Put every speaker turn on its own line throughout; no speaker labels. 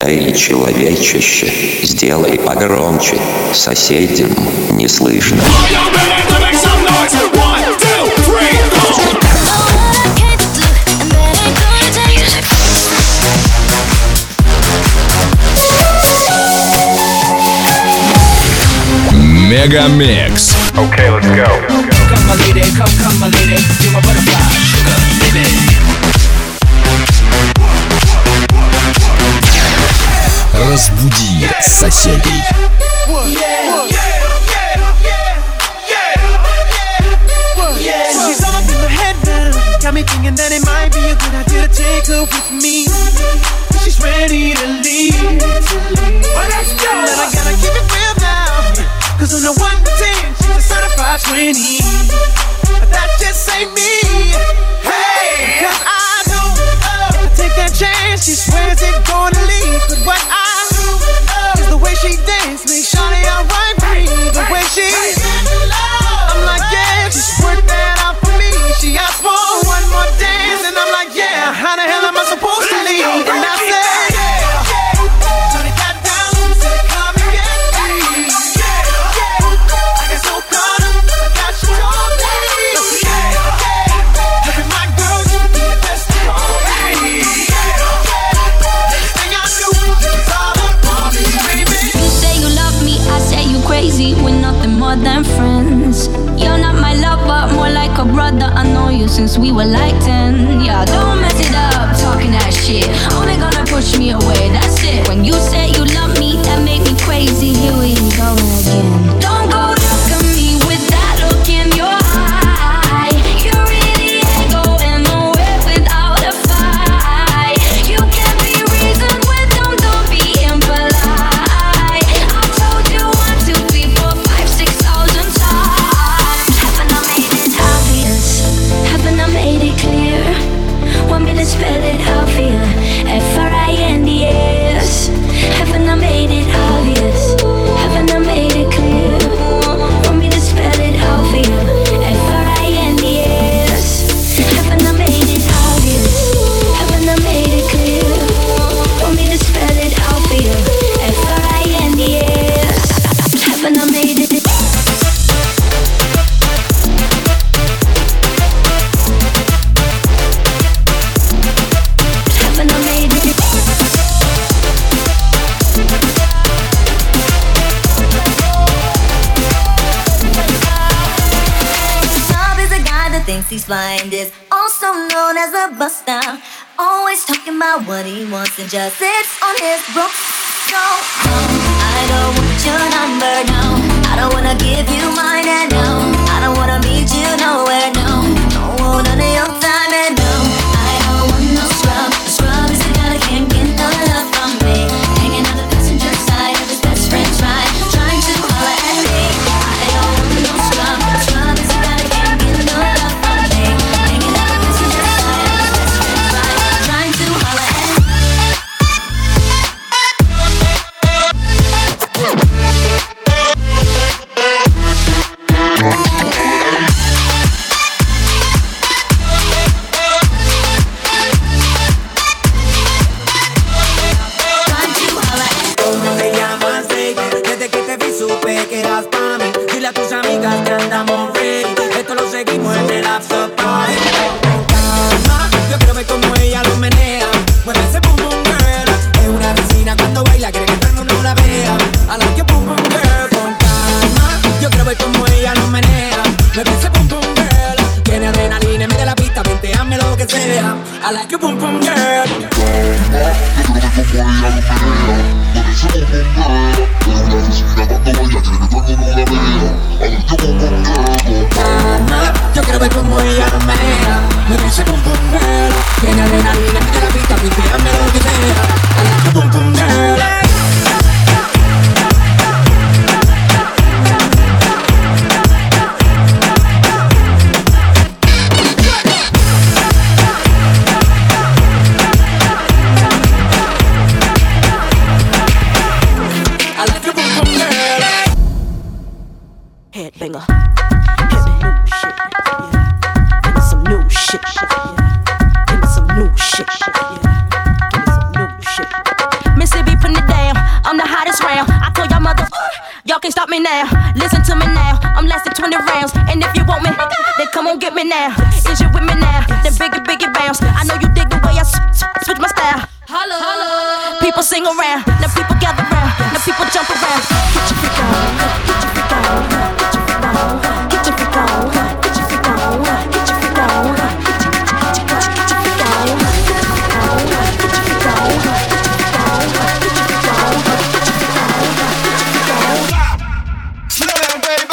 Эй, человечище, сделай погромче, соседям не слышно.
Мегамикс.
Okay, let's go. Come my lady, come my lady, you're my butterfly, sugar, baby.
Разбуди соседей.
She's all up in my head now, got me thinking that it might be a good idea to take her with me. She's ready to leave. Well, let's go. But I gotta keep it real now, 'cause on a 1 to 10, she's a certified 20. But that just ain't me. Hey, 'cause I know if I take that chance, she swears it's gonna leave. But what I do is the way she dance makes Shawty alright with me. The way she, I'm like, yeah, she's worked that out for me. She asked for one more dance, and I'm like, yeah, how the hell am I supposed to leave? And I said, so they got down, said come and get me. I got so caught up, I got you all day. Look at my girl, you be the best of me. Everything I do is all about me, baby.
You say you love me, I say you crazy. We're nothing more than friends. You're not my lover, more like a brother. I know you since we were like 10. Yeah, don't mess it up, talking that shit. Only gonna push me away, that's it. When you say you love me, that make me crazy. Here we go again. Don't go look at me with that look in your eye. You really ain't going nowhere without a fight. You can't be reasoned with, don't be impolite. I've told you 1, 2, 3, 4, 5, 6,000 times. Haven't I made it obvious? Haven't I made it clear? Want me to spell it out for you? F-R-I-N-D-S. Haven't I made it obvious? Haven't I made it clear? Want me to spell it out for you? F-R-I-N-D-S. Haven't I made it obvious? Haven't I made it clear? Want me to spell it out for you? F-R-I-N-D-S. Haven't I made it? Haven't I made it?
Snob is a guy that thinks he's flying, is also known as a buster. Always talking about what he wants and just sits on his broke. So, no, I don't want your number, no. I don't wanna give you mine, and no, I don't wanna meet you nowhere, no. Don't want none of your time, and no, I don't want no scrub. A scrub is a guy that can't get no love from me. Hanging on the passenger side of his best friend's ride, trying to holler at me. I don't want no scrub. A scrub is a guy that can't get no love from me. Hanging on the passenger side of his best friend's ride, trying to holler at me. Trying to holler at me.
¿Cómo te llamas, baby? Desde que te vi supe que eras pa' mí. Dile a tus amigas que andamos ready. Esto lo seguimos en el after party. Con calma, yo quiero ver cómo ella lo menea. Mueve ese boom boom girl. Es una vecina cuando baila, quiere que todo el mundo la vea. I like your boom boom girl. Con calma, yo quiero ver cómo ella lo menea. Mueve ese boom boom girl. Tiene adrenalina en medio de la pista, venteame lo que sea. I like your boom boom girl. Calma, yo quiero ver cómo ella lo menea. Mueve ese boom boom girl. Tiene adrenalina en medio de la pista, venteame lo que sea. I like your boom boom girl. I like your boom boom girl.
Headbanger. Give me some new shit, yeah. Give me some new shit, yeah. Give me some new shit, yeah. Give me some new shit. Missy be
I'm the hottest round. I told y'all mother, y'all can't stop me now. Listen to me now, I'm less than 20 rounds. And if you want me, then come on get me now. Is you with me now? Then biggie bounce. I know you dig the way I switch my style. Holla. People sing around, now people gather round, now people jump around. Get your freak on, get your freak on, get your freak on, get your freak on, get your freak on, get your freak on, get your freak on, get your freak on, get your freak on, get your freak on, get your freak on.
Slow down, baby.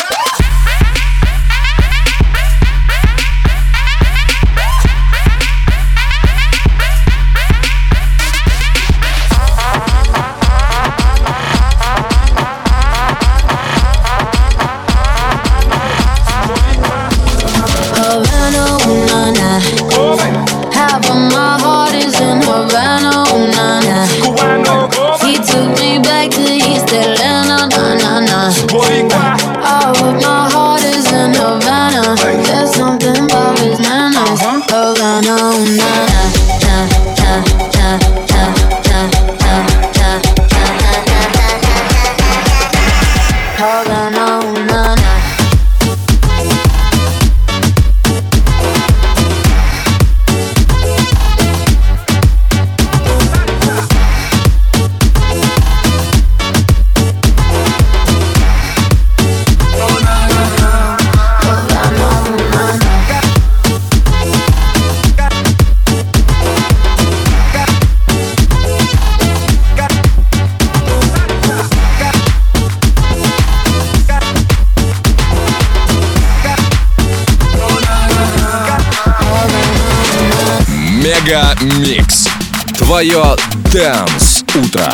Мега-микс. Твое Dance утро.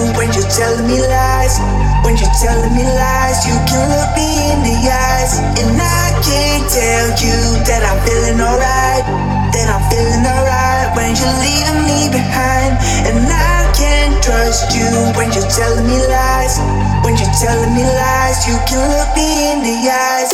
when you're telling me lies. When you're telling me lies, you can look me in the eyes, and I can't tell you that I'm feeling alright. That I'm feeling alright when you're leaving me behind. And I can't trust you when you're telling me lies. When you're telling me lies, you can look me in the eyes.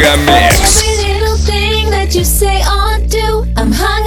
Мегамикс.
Every little thing that you say or do, I'm hung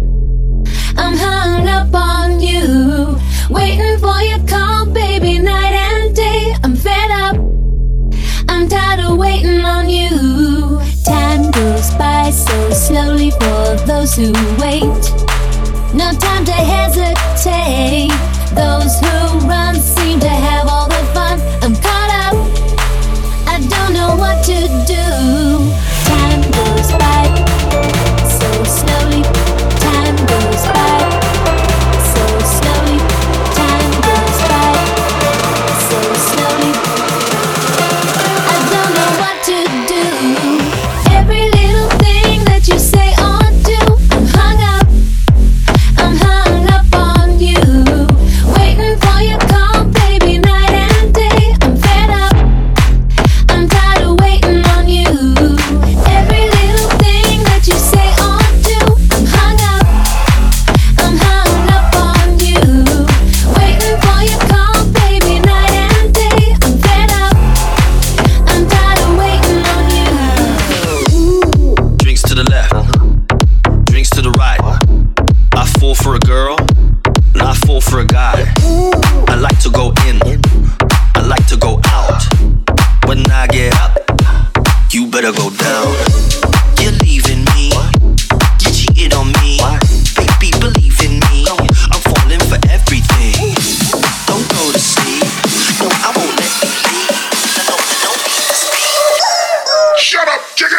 up on you. Waiting for your call, baby, night and day. I'm fed up, I'm tired of waiting on you. Time goes by so slowly for those who wait. No time to hesitate. Those who run seem to have all the fun. I'm caught up, I don't know what to do. Time goes by so slowly. Time goes by so slowly. Time goes by so slowly. I don't know what to do. Every little thing that you say or do, I'm hung up on you. Waiting for your call, baby, night and day. I'm fed up, I'm tired of waiting on you. Every little thing that you say or do, I'm hung up on you. Waiting for your call, baby, night and day. I'm fed up, I'm tired of waiting on you.
Drinks to the left, drinks to the right. I fall for a girl, and I fall for a guy. I like to go in, I like to go out. When I get up, you better go down. You're leaving me, you cheated on me. Baby, believe in me, I'm falling for everything. Don't go to sleep, no, I won't let you leave. No need to speak. Shut up, chicken!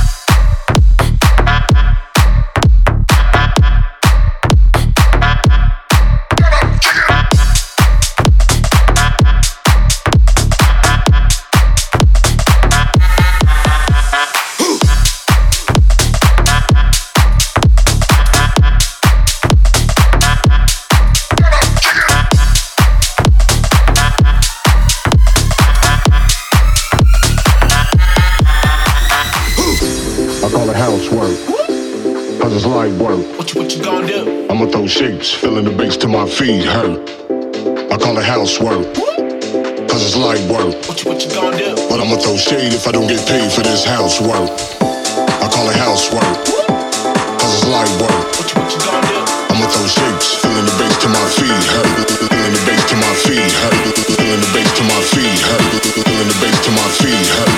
I'ma throw shapes, feeling the bass till my feet hurt. I call it housework, cause it's light work. What you gonna do? But I'ma throw shade if I don't get paid for this housework. I call it housework, cause it's light work. What you gonna do? I'ma throw shapes, feeling the bass till my feet hurt. Feeling the bass till my feet hurt. Feeling the bass till my feet hurt. Feeling the bass till my feet hurt.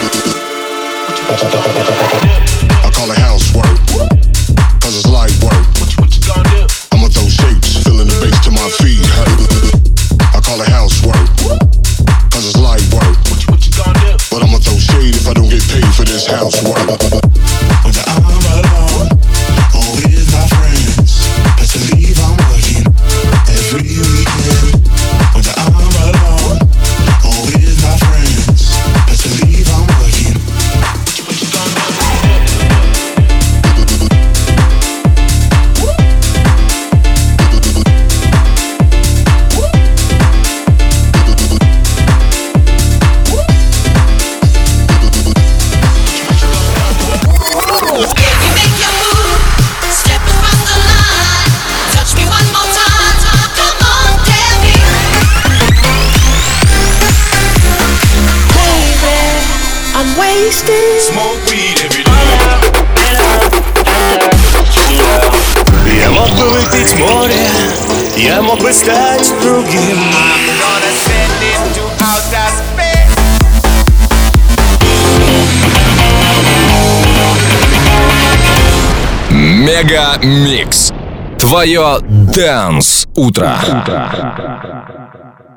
I call it housework, cause it's light work. What you gonna do? I'ma throw shapes, feeling the bass till my feet hurt. I call it housework, cause it's light work. What you gonna do? But I'ma throw shade if I don't get paid for this housework. Whether I'm alone or with my friends, best believe I'm working every weekend. Whether I'm alone or with my friends, best believe I'm working. What you gonna do?
Smoke weed every day.
Я мог бы выпить море, я мог бы стать другим.
I'm gonna send it to outer space.
Мегамикс. Твое Dance утро.